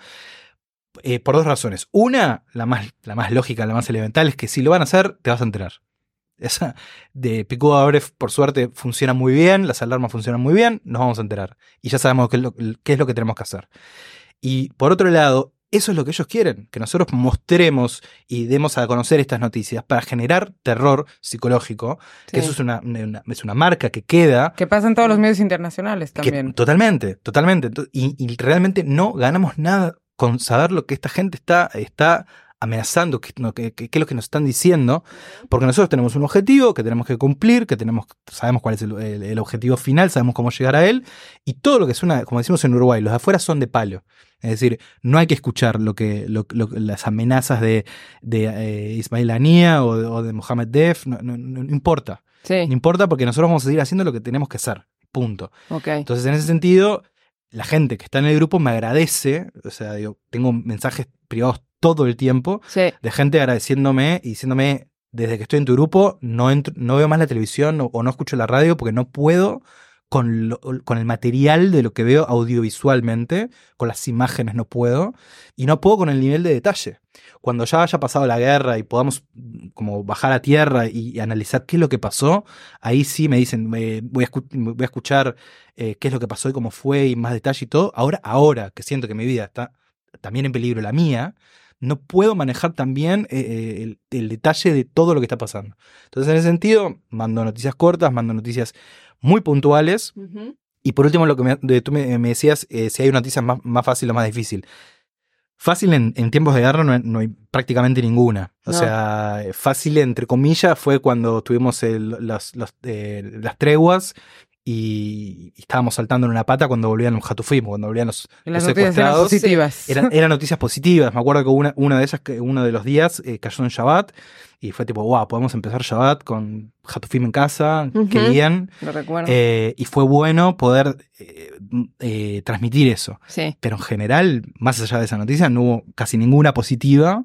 D: eh, por dos razones. Una, la más, la más lógica, la más elemental, es que si lo van a hacer, te vas a enterar. Esa de Picú Abref, por suerte, funciona muy bien, las alarmas funcionan muy bien, nos vamos a enterar. Y ya sabemos qué es lo, qué es lo que tenemos que hacer. Y por otro lado, eso es lo que ellos quieren, que nosotros mostremos y demos a conocer estas noticias para generar terror psicológico, sí. Que eso es una, una, es una marca que queda.
C: Que pasa en todos los medios internacionales también.
D: Que, totalmente, totalmente. Y, y realmente no ganamos nada con saber lo que esta gente está, está amenazando, qué que, que, que es lo que nos están diciendo, porque nosotros tenemos un objetivo que tenemos que cumplir, que tenemos, sabemos cuál es el, el, el objetivo final, sabemos cómo llegar a él, y todo lo que suena, como decimos en Uruguay, los de afuera son de palo. Es decir, no hay que escuchar lo que, lo, lo, las amenazas de, de eh, Ismail Haniyeh o, o de Mohamed Def, no, no, no, no importa.
C: Sí.
D: No importa porque nosotros vamos a seguir haciendo lo que tenemos que hacer. Punto.
C: Okay.
D: Entonces, en ese sentido, la gente que está en el grupo me agradece, o sea, digo, tengo mensajes privados todo el tiempo,
C: sí.
D: de gente agradeciéndome y diciéndome, desde que estoy en tu grupo, no, entro, no veo más la televisión o, o no escucho la radio porque no puedo con, lo, con el material de lo que veo audiovisualmente, con las imágenes no puedo, y no puedo con el nivel de detalle. Cuando ya haya pasado la guerra y podamos como bajar a tierra y, y analizar qué es lo que pasó, ahí sí me dicen, eh, voy, a escu- voy a escuchar eh, qué es lo que pasó y cómo fue y más detalle y todo. Ahora, ahora que siento que mi vida está también en peligro, la mía, no puedo manejar también eh, el, el detalle de todo lo que está pasando. Entonces, en ese sentido, mando noticias cortas, mando noticias muy puntuales.
C: Uh-huh.
D: Y por último, lo que me, de, tú me, me decías, eh, si hay noticias más, más fácil o más difícil. Fácil en, en tiempos de guerra no hay, no hay prácticamente ninguna. O
C: no.
D: sea, fácil entre comillas fue cuando tuvimos el, los, los, eh, las treguas y estábamos saltando en una pata cuando volvían los Hatufim, cuando volvían los,
C: las
D: los
C: noticias eran positivas.
D: Eran, eran noticias positivas. Me acuerdo que una, una de ellas, que uno de los días eh, cayó en Shabbat y fue tipo, wow, podemos empezar Shabbat con Hatufim en casa, uh-huh. Qué bien.
C: Lo recuerdo.
D: Eh, y fue bueno poder eh, eh, transmitir eso.
C: Sí.
D: Pero en general, más allá de esa noticia, no hubo casi ninguna positiva.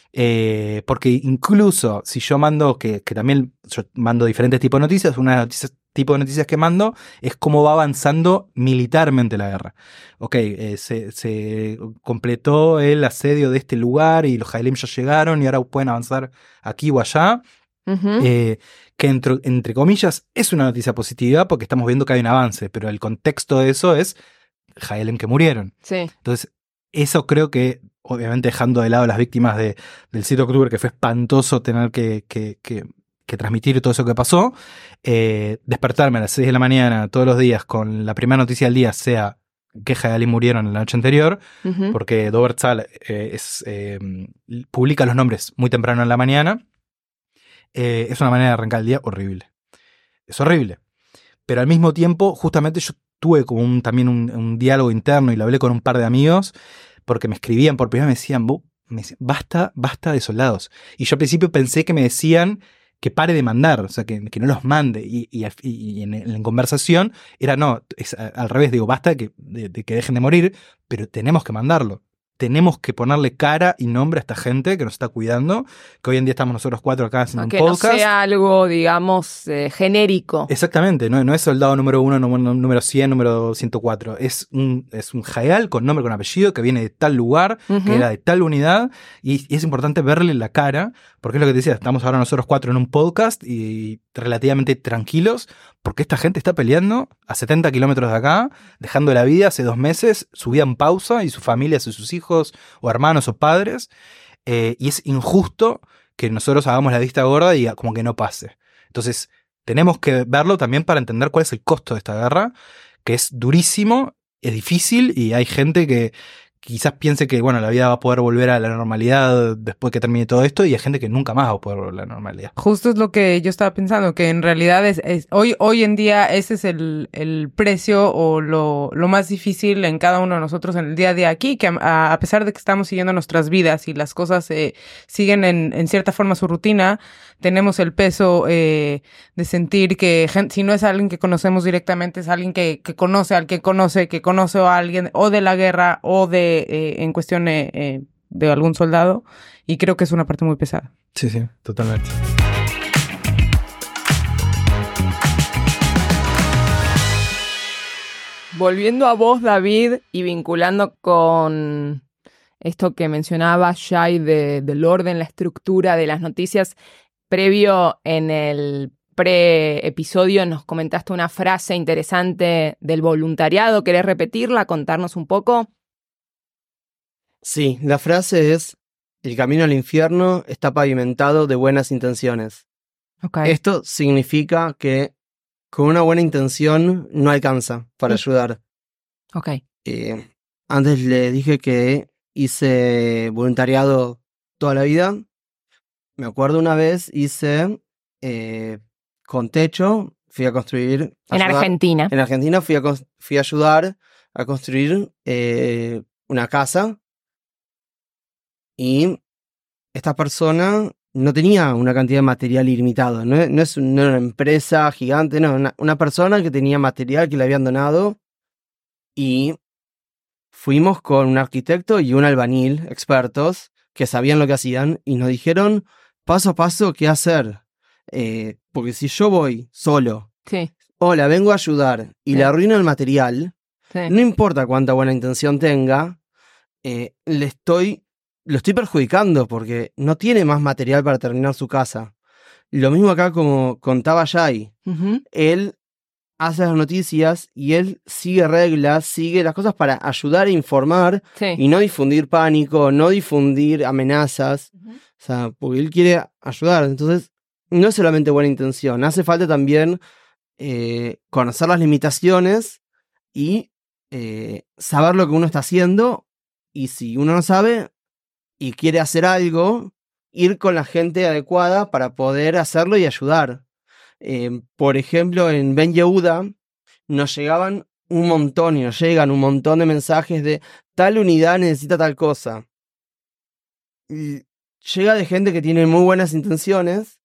D: Eh, porque incluso si yo mando, que, que también yo mando diferentes tipos de noticias, una de las noticias tipo de noticias que mando es cómo va avanzando militarmente la guerra. Ok, eh, se, se completó el asedio de este lugar y los Haelim ya llegaron y ahora pueden avanzar aquí o allá.
C: Uh-huh.
D: Eh, que entre, entre comillas es una noticia positiva porque estamos viendo que hay un avance, pero el contexto de eso es Haelim que murieron.
C: Sí.
D: Entonces, eso creo que, obviamente dejando de lado las víctimas de, del siete de octubre, que fue espantoso tener que, que, que que transmitir todo eso que pasó, eh, despertarme a las seis de la mañana todos los días con la primera noticia del día sea que Haelim murieron en la noche anterior, uh-huh. Porque Dover Tzahal eh, es, eh, publica los nombres muy temprano en la mañana, eh, es una manera de arrancar el día horrible. Es horrible. Pero al mismo tiempo, justamente yo tuve como un, también un, un diálogo interno y lo hablé con un par de amigos, porque me escribían por primera vez, me decían, me decían basta, basta de soldados. Y yo al principio pensé que me decían que pare de mandar, o sea, que, que no los mande. Y, y, y en, en conversación era no, es al revés, digo, basta de que, de, de que dejen de morir, pero tenemos que mandarlo. Tenemos que ponerle cara y nombre a esta gente que nos está cuidando, que hoy en día estamos nosotros cuatro acá haciendo un
C: que
D: podcast.
C: Que no sea algo, digamos, eh, genérico.
D: Exactamente, no, no es soldado número uno, número cien, número ciento cuatro. Es un, es un Hayal con nombre, con apellido, que viene de tal lugar, uh-huh. Que era de tal unidad, y, y es importante verle la cara, porque es lo que te decía, estamos ahora nosotros cuatro en un podcast y relativamente tranquilos, porque esta gente está peleando a setenta kilómetros de acá, dejando la vida hace dos meses, su vida en pausa y su familia, y sus hijos o hermanos o padres, eh, y es injusto que nosotros hagamos la vista gorda y como que no pase. Entonces tenemos que verlo también para entender cuál es el costo de esta guerra, que es durísimo, es difícil y hay gente que, quizás piense que, bueno, la vida va a poder volver a la normalidad después que termine todo esto, y hay gente que nunca más va a poder volver a la normalidad.
C: Justo es lo que yo estaba pensando, que en realidad es, es hoy, hoy en día ese es el, el precio o lo, lo más difícil en cada uno de nosotros en el día a día aquí, que a, a pesar de que estamos siguiendo nuestras vidas y las cosas eh, siguen en, en cierta forma su rutina, tenemos el peso eh, de sentir que gente, si no es alguien que conocemos directamente, es alguien que, que conoce al que conoce, que conoce a alguien o de la guerra o de Eh, en cuestión eh, eh, de algún soldado, y creo que es una parte muy pesada.
D: Sí, sí, totalmente.
B: Volviendo a vos, David, y vinculando con esto que mencionaba Shai de, del orden, la estructura de las noticias, previo en el pre-episodio nos comentaste una frase interesante del voluntariado. ¿Querés repetirla? Contarnos un poco.
E: Sí, la frase es: el camino al infierno está pavimentado de buenas intenciones.
B: Okay.
E: Esto significa que con una buena intención no alcanza para
B: Sí.
E: ayudar.
B: Ok.
E: Eh, antes le dije que hice voluntariado toda la vida. Me acuerdo una vez hice eh, con techo, fui a construir... a
B: En
E: ayudar-
B: Argentina.
E: En Argentina fui a, cons- fui a ayudar a construir eh, una casa. Y esta persona no tenía una cantidad de material ilimitado. No, no es un- no era una empresa gigante, no. Una, una persona que tenía material que le habían donado. Y fuimos con un arquitecto y un albañil, expertos, que sabían lo que hacían. Y nos dijeron paso a paso qué hacer. Eh, porque si yo voy solo,
B: Sí.
E: hola, vengo a ayudar, y
B: Sí.
E: le arruino el material,
B: Sí.
E: no importa cuánta buena intención tenga, eh, le estoy, lo estoy perjudicando porque no tiene más material para terminar su casa. Lo mismo acá, como contaba Shai.
B: Ujú.
E: Él hace las noticias y él sigue reglas, sigue las cosas para ayudar e informar
B: Sí.
E: y no difundir pánico, no difundir amenazas.
B: Ujú.
E: O sea, porque él quiere ayudar. Entonces, no es solamente buena intención, hace falta también eh, conocer las limitaciones y eh, saber lo que uno está haciendo. Y si uno no sabe y quiere hacer algo, ir con la gente adecuada para poder hacerlo y ayudar. Eh, por ejemplo, en Ben Yehuda nos llegaban un montón y nos llegan un montón de mensajes de tal unidad necesita tal cosa. Y llega de gente que tiene muy buenas intenciones,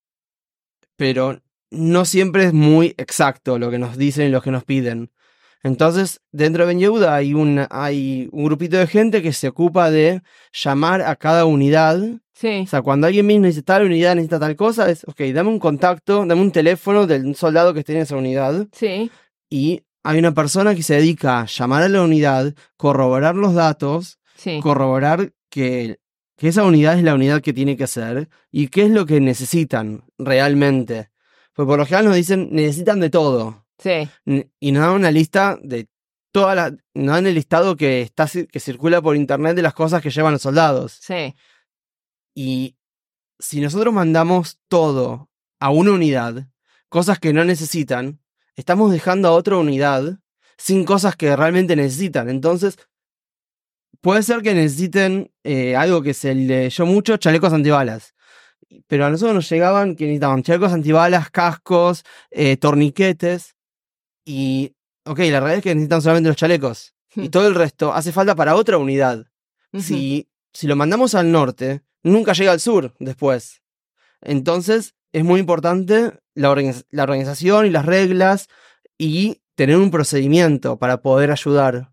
E: pero no siempre es muy exacto lo que nos dicen y lo que nos piden. Entonces, dentro de Ben Yehuda hay un, hay un grupito de gente que se ocupa de llamar a cada unidad.
B: Sí.
E: O sea, cuando alguien mismo dice tal unidad necesita tal cosa, es, ok, dame un contacto, dame un teléfono del soldado que esté en esa unidad.
B: Sí.
E: Y hay una persona que se dedica a llamar a la unidad, corroborar los datos,
B: Sí.
E: corroborar que, que esa unidad es la unidad que tiene que ser y qué es lo que necesitan realmente. Pues por lo general nos dicen, necesitan de todo.
B: Sí.
E: N- Y nos dan una lista de todas las... Nos dan el listado que, está, ci- que circula por internet de las cosas que llevan los soldados.
B: Sí.
E: Y si nosotros mandamos todo a una unidad, cosas que no necesitan, estamos dejando a otra unidad sin cosas que realmente necesitan. Entonces, puede ser que necesiten eh, algo que se leyó mucho, chalecos antibalas. Pero a nosotros nos llegaban que necesitaban chalecos antibalas, cascos, eh, torniquetes. Y, ok, la realidad es que necesitan solamente los chalecos. Y
B: Hmm.
E: todo el resto hace falta para otra unidad.
B: Ujú.
E: Si, si lo mandamos al norte, nunca llega al sur después. Entonces, es muy importante la, organiz- la organización y las reglas y tener un procedimiento para poder ayudar.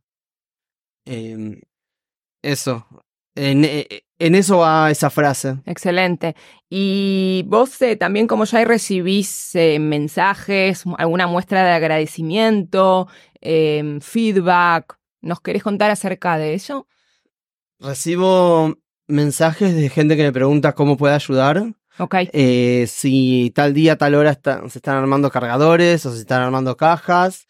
E: Eh, eso. En, eh, en eso va esa frase.
B: Excelente. Y vos eh, también, como ya recibís eh, mensajes, alguna muestra de agradecimiento, eh, feedback, ¿nos querés contar acerca de eso?
E: Recibo mensajes de gente que me pregunta cómo puede ayudar.
B: Ok.
E: Eh, si tal día, tal hora está- se están armando cargadores o se están armando cajas.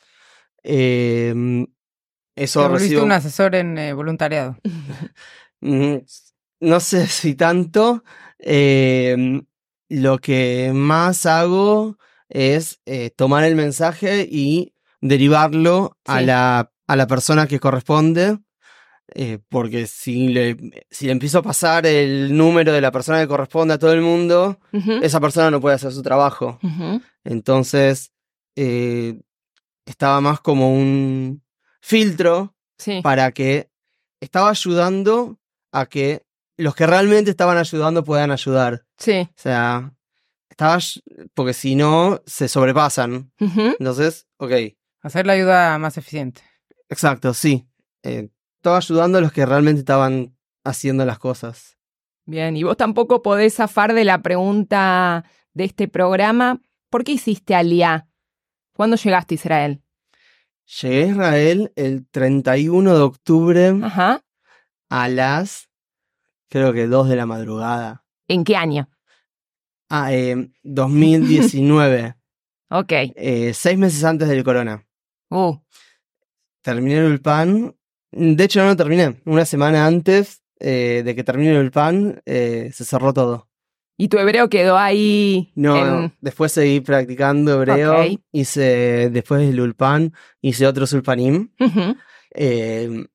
E: Eh, eso
C: Te volviste
E: recibo.
C: un asesor en eh, voluntariado.
E: Mm, No sé si tanto. Eh, lo que más hago es eh, tomar el mensaje y derivarlo a
B: Sí.
E: la, a la persona que corresponde. Eh, porque si le, si le empiezo a pasar el número de la persona que corresponde a todo el mundo,
B: Ujú,
E: esa persona no puede hacer su trabajo.
B: ujú.
E: Entonces, eh, estaba más como un filtro
B: Sí,
E: para que estaba ayudando a que los que realmente estaban ayudando puedan ayudar.
B: sí.
E: O sea, estaba, ay- porque si no, se sobrepasan.
B: Ujú.
E: Entonces, ok,
C: Hacer la ayuda más eficiente.
E: exacto, sí. Eh, estaba ayudando a los que realmente estaban haciendo las cosas.
B: Bien, y vos tampoco podés zafar de la pregunta de este programa. ¿Por qué hiciste Aliá? ¿Cuándo llegaste a Israel?
E: Llegué a Israel el treinta y uno de octubre
B: Ajá.
E: a las, creo que dos de la madrugada.
B: ¿En qué año?
E: Ah, eh, dos mil diecinueve,
B: Ok.
E: eh, seis meses antes del corona.
B: Uh,
E: Terminé el Ulpan. De hecho, no lo terminé. Una semana antes eh, de que termine el Ulpan, eh, se cerró todo.
B: ¿y tu hebreo quedó ahí
E: No,
B: en...
E: no. Después seguí practicando hebreo.
B: Ok.
E: Hice, después del Ulpan, hice otros Ulpanim.
B: Ujú.
E: Eh,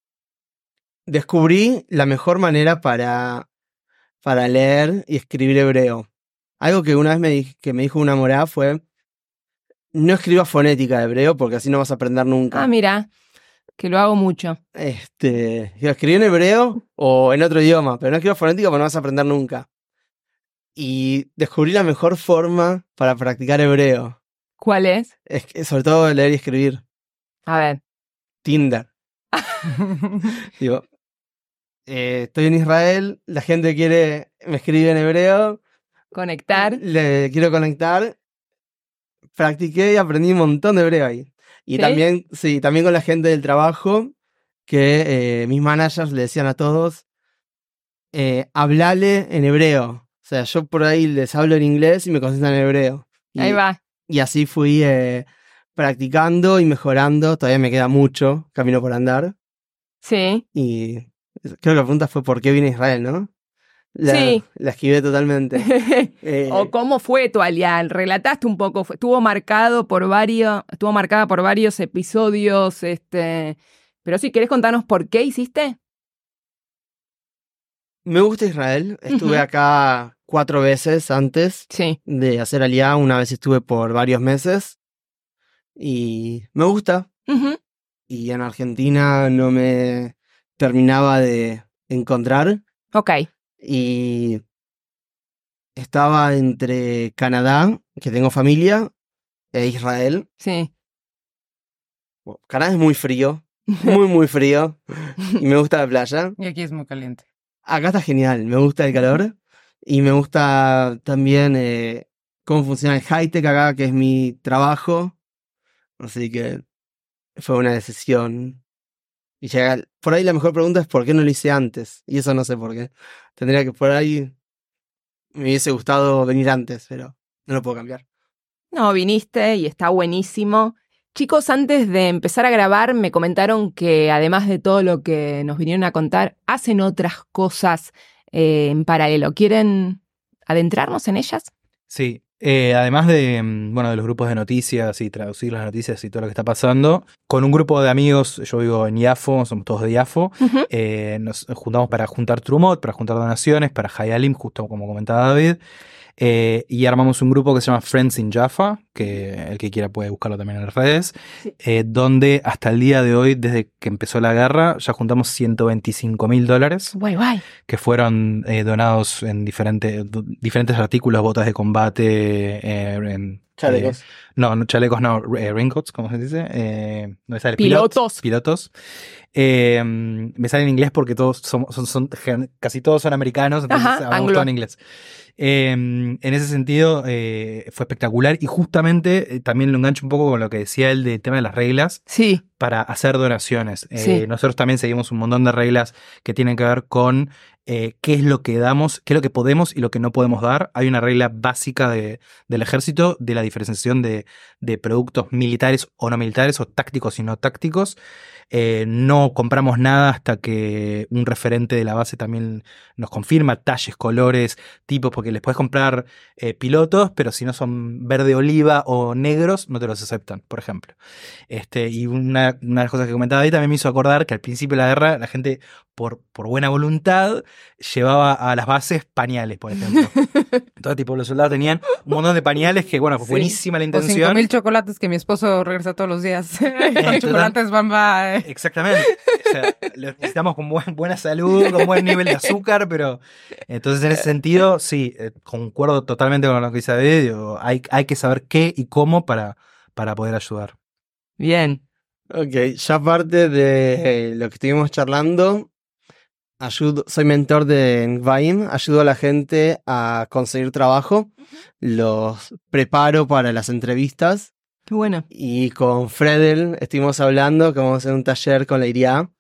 E: descubrí la mejor manera para, para leer y escribir hebreo. Algo que una vez me, di- que me dijo una morá fue: no escribas fonética de hebreo porque así no vas a aprender nunca.
B: Ah, mira, que lo hago mucho.
E: Este, digo, escribí en hebreo o en otro idioma, pero no escribo fonética porque no vas a aprender nunca. Y descubrí la mejor forma para practicar hebreo.
B: ¿Cuál es?
E: Es que, sobre todo leer y escribir.
B: A ver.
E: Tinder. Digo, eh, estoy en Israel, la gente quiere, me escribe en hebreo,
B: Conectar.
E: le quiero conectar. Practiqué y aprendí un montón de hebreo ahí. Y
B: ¿Sí?
E: también, sí, también con la gente del trabajo, que eh, mis managers le decían a todos, eh, hablale en hebreo. O sea, yo por ahí les hablo en inglés y me contestan en hebreo. Y,
B: Ahí va.
E: y así fui eh, practicando y mejorando. Todavía me queda mucho camino por andar.
B: Sí.
E: Y creo que la pregunta fue ¿por qué vine a Israel, no? La,
B: Sí.
E: la esquivé totalmente. Eh,
B: ¿O cómo fue tu Aliá? Relataste un poco. Fue- Estuvo marcado por varios, estuvo marcada por varios episodios, este... Pero si querés contarnos por qué hiciste.
E: me gusta Israel. Estuve
B: Ujú.
E: acá cuatro veces antes
B: Sí.
E: de hacer Aliá. Una vez estuve por varios meses. Y me gusta.
B: Ujú.
E: Y en Argentina no me terminaba de encontrar.
B: Ok.
E: Y estaba entre Canadá, que tengo familia, e Israel.
B: Sí.
E: Bueno, Canadá es muy frío, muy, muy frío. Y me gusta la playa.
C: Y aquí es muy caliente.
E: Acá está genial, me gusta el calor. Y me gusta también eh, cómo funciona el high-tech acá, que es mi trabajo. Así que fue una decisión. Y llega, por ahí la mejor pregunta es ¿por qué no lo hice antes? Y eso no sé por qué. Tendría que por ahí me hubiese gustado venir antes, pero no lo puedo cambiar.
B: No, viniste y está buenísimo. Chicos, antes de empezar a grabar me comentaron que además de todo lo que nos vinieron a contar, hacen otras cosas eh, en paralelo. ¿Quieren adentrarnos en ellas?
D: Sí, eh, además de, mm, bueno, de los grupos de noticias y traducir las noticias y todo lo que está pasando, con un grupo de amigos, yo vivo en Yafo, somos todos de Yafo,
B: Ujú.
D: eh, nos juntamos para juntar Trumot, para juntar donaciones, para Hayalim, justo como comentaba David, eh, y armamos un grupo que se llama Friends in Jaffa, que el que quiera puede buscarlo también en las redes,
B: Sí.
D: eh, donde hasta el día de hoy, desde que empezó la guerra, ya juntamos ciento veinticinco mil dólares.
B: Guay, guay.
D: Que fueron eh, donados en diferente, du- diferentes artículos, botas de combate, eh, en,
E: Chalecos.
D: eh, no, no, chalecos no, eh, raincoats, ¿cómo se dice? Eh, no me sale,
B: Pilotos.
D: pilot- pilotos. Eh, me sale en inglés porque todos somos, son, son- gen- casi todos son americanos, entonces
B: Ajá,
D: hablamos
B: anglo.
D: todo en inglés. Eh, en ese sentido eh, fue espectacular y justamente eh, también lo engancho un poco con lo que decía él del tema de las reglas
B: Sí.
D: para hacer donaciones. Eh,
B: Sí.
D: Nosotros también seguimos un montón de reglas que tienen que ver con eh, qué es lo que damos, qué es lo que podemos y lo que no podemos dar. Hay una regla básica de, del ejército de la diferenciación de de productos militares o no militares, o tácticos y no tácticos. Eh, no compramos nada hasta que un referente de la base también nos confirma talles, colores, tipos, porque les puedes comprar eh, pilotos, pero si no son verde oliva o negros, no te los aceptan, por ejemplo. Este, y una, una de las cosas que comentaba ahí también me hizo acordar que al principio de la guerra la gente, por, por buena voluntad, llevaba a las bases pañales, por ejemplo. Entonces, tipo, los soldados tenían un montón de pañales que, bueno,
C: Sí.
D: buenísima la
C: O cinco
D: intención.
C: mil chocolates que mi esposo regresa todos los días. Con chocolates Bamba. eh.
D: Exactamente. O sea, lo necesitamos con buen- buena salud, con buen nivel de azúcar, pero entonces en ese sentido, sí, eh, concuerdo totalmente con lo que dice David. Digo, hay, hay que saber qué y cómo para, para poder ayudar.
B: Bien.
E: Ok, ya aparte de lo que estuvimos charlando, ayudo, soy mentor de Ngvaim, ayudo a la gente a conseguir trabajo, los preparo para las entrevistas
B: Qué bueno.
E: y con Fredel estuvimos hablando que vamos a hacer un taller con la I R I A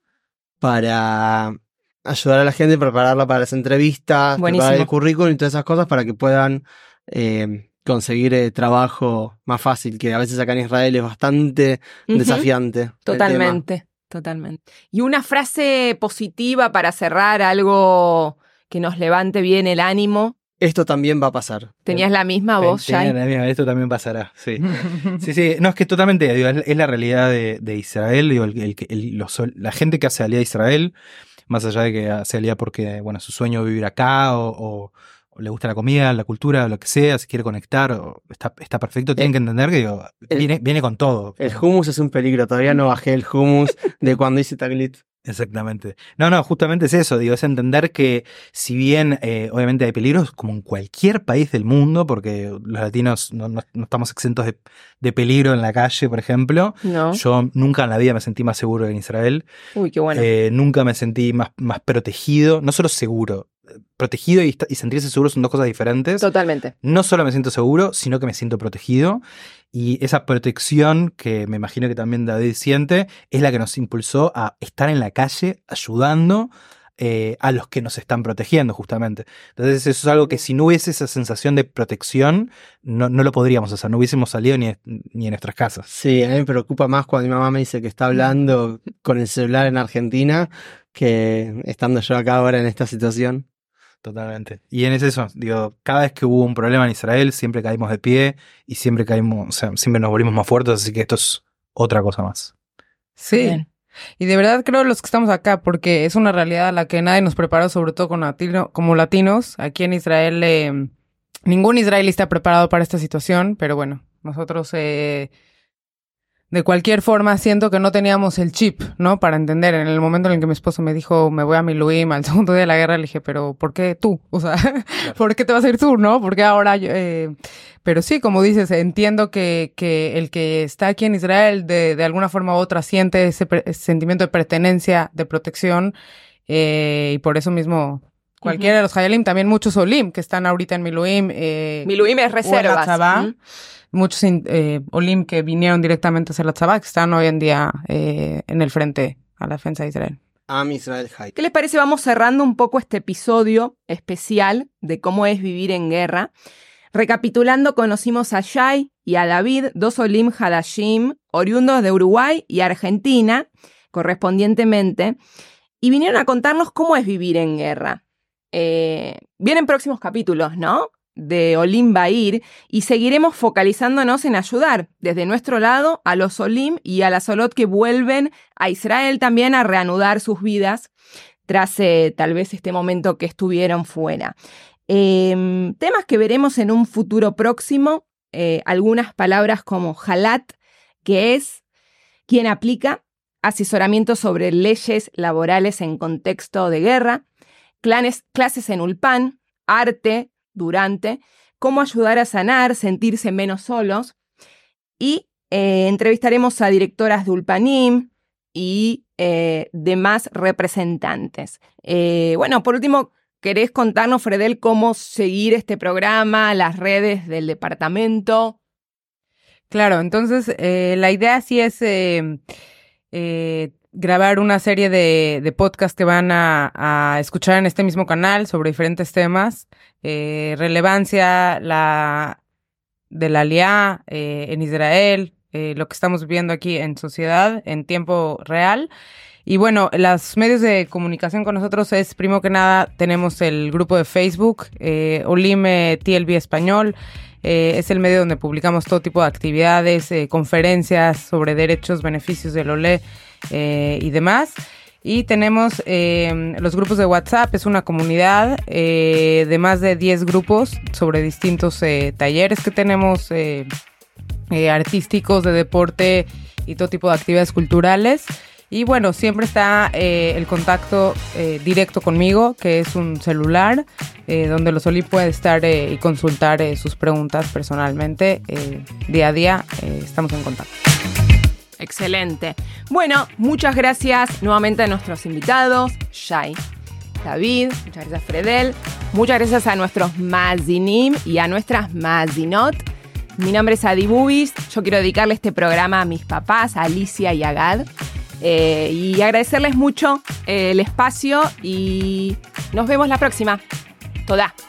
E: para ayudar a la gente a prepararla para las entrevistas,
B: Buenísimo.
E: preparar el currículum y todas esas cosas para que puedan eh, conseguir eh, trabajo más fácil, que a veces acá en Israel es bastante
B: Ujú.
E: desafiante. el tema.
B: Totalmente, totalmente. Y una frase positiva para cerrar, algo que nos levante bien el ánimo.
E: Esto también va a pasar.
B: ¿Tenías la misma voz,
D: Tenía
B: Shai?
D: la misma, esto también pasará, sí. Sí, sí, no, es que totalmente, digo, es, es la realidad de, de Israel, digo, el, el, el- los- la gente que hace alía a Israel, más allá de que hace alía porque, bueno, su sueño es vivir acá, o, o- o le gusta la comida, la cultura, lo que sea, si quiere conectar, o está, está perfecto, tienen
E: El-
D: que entender que, digo,
E: el-
D: viene, viene con todo.
E: El hummus es un peligro, todavía no bajé el hummus de cuando hice Taglit.
D: Exactamente. No, no, justamente es eso, digo, es entender que si bien eh, obviamente hay peligros, como en cualquier país del mundo, porque los latinos no, no- no estamos exentos de, de peligro en la calle, por ejemplo,
B: No.
D: yo nunca en la vida me sentí más seguro que en Israel,
B: Uy, qué bueno.
D: eh, nunca me sentí más, más protegido, no solo seguro, protegido y, esta- y sentirse seguro son dos cosas diferentes.
B: Totalmente.
D: No solo me siento seguro, sino que me siento protegido. Y esa protección que me imagino que también David siente es la que nos impulsó a estar en la calle ayudando eh, a los que nos están protegiendo, justamente. Entonces eso es algo que si no hubiese esa sensación de protección, no, no lo podríamos hacer, no hubiésemos salido ni, ni en nuestras casas.
E: Sí, a mí me preocupa más cuando mi mamá me dice que está hablando con el celular en Argentina que estando yo acá ahora en esta situación.
D: Totalmente. Y en eso, digo, cada vez que hubo un problema en Israel, siempre caímos de pie y siempre caímos, o sea, siempre nos volvimos más fuertes, así que esto es otra cosa más.
C: Sí.
B: Bien.
C: Y de verdad creo los que estamos acá, porque es una realidad a la que nadie nos preparó, sobre todo con latino, como latinos. Aquí en Israel, eh, ningún israelí está preparado para esta situación, pero bueno, nosotros eh, de cualquier forma siento que no teníamos el chip, ¿no? Para entender. En el momento en el que mi esposo me dijo, me voy a Miluim al segundo día de la guerra, le dije, pero ¿por qué tú? O sea, ¿por qué te vas a ir tú, no? ¿Por qué ahora yo? Eh... Pero sí, como dices, entiendo que, que el que está aquí en Israel de, de alguna forma u otra siente ese, pre- ese sentimiento de pertenencia, de protección, eh, y por eso mismo cualquiera de los Hayalim, también muchos Olim que están ahorita en Miluim. Eh,
B: Miluim es
C: o en la
B: reservas.
C: Tzabá.
B: ¿Mm?
C: Muchos eh, Olim que vinieron directamente a hacer la Tzabá, que están hoy en día eh, en el frente a la defensa de Israel.
E: Am Israel Hay.
B: ¿Qué les parece? Vamos cerrando un poco este episodio especial de cómo es vivir en guerra. Recapitulando, conocimos a Shai y a David, dos Olim Hadashim, oriundos de Uruguay y Argentina, correspondientemente, y vinieron a contarnos cómo es vivir en guerra. Eh, vienen próximos capítulos, ¿no?, de Olim Bair, y seguiremos focalizándonos en ayudar desde nuestro lado a los Olim y a las Olot que vuelven a Israel también a reanudar sus vidas tras eh, tal vez este momento que estuvieron fuera. Eh, temas que veremos en un futuro próximo, eh, algunas palabras como halat, que es quien aplica asesoramiento sobre leyes laborales en contexto de guerra, clanes, clases en Ulpan, arte, durante, cómo ayudar a sanar, sentirse menos solos, y eh, entrevistaremos a directoras de Ulpanim y eh, demás representantes. Eh, bueno, por último, ¿querés contarnos, Fredel, cómo seguir este programa, las redes del departamento?
C: Claro, entonces eh, la idea sí es eh, eh, grabar una serie de, de podcasts que van a, a escuchar en este mismo canal sobre diferentes temas, eh, relevancia, la de la Aliá eh, en Israel, eh, lo que estamos viviendo aquí en sociedad en tiempo real. Y bueno, los medios de comunicación con nosotros es, primero que nada, tenemos el grupo de Facebook, eh, Olime T L B Español. Eh, es el medio donde publicamos todo tipo de actividades, eh, conferencias sobre derechos, beneficios del Olé eh, y demás. Y tenemos eh, los grupos de WhatsApp, es una comunidad eh, de más de diez grupos sobre distintos eh, talleres que tenemos, eh, eh, artísticos, de deporte y todo tipo de actividades culturales. Y bueno, siempre está eh, el contacto eh, directo conmigo, que es un celular, eh, donde los Oli puede estar eh, y consultar eh, sus preguntas personalmente. Eh, día a día eh, estamos en contacto.
B: Excelente. Bueno, muchas gracias nuevamente a nuestros invitados, Shai, David, muchas gracias Fredel, muchas gracias a nuestros Mazinim y a nuestras Mazinot. Mi nombre es Adi Bubis, yo quiero dedicarle este programa a mis papás, a Alicia y a Gad. Eh, y agradecerles mucho eh, el espacio y nos vemos la próxima. Toda.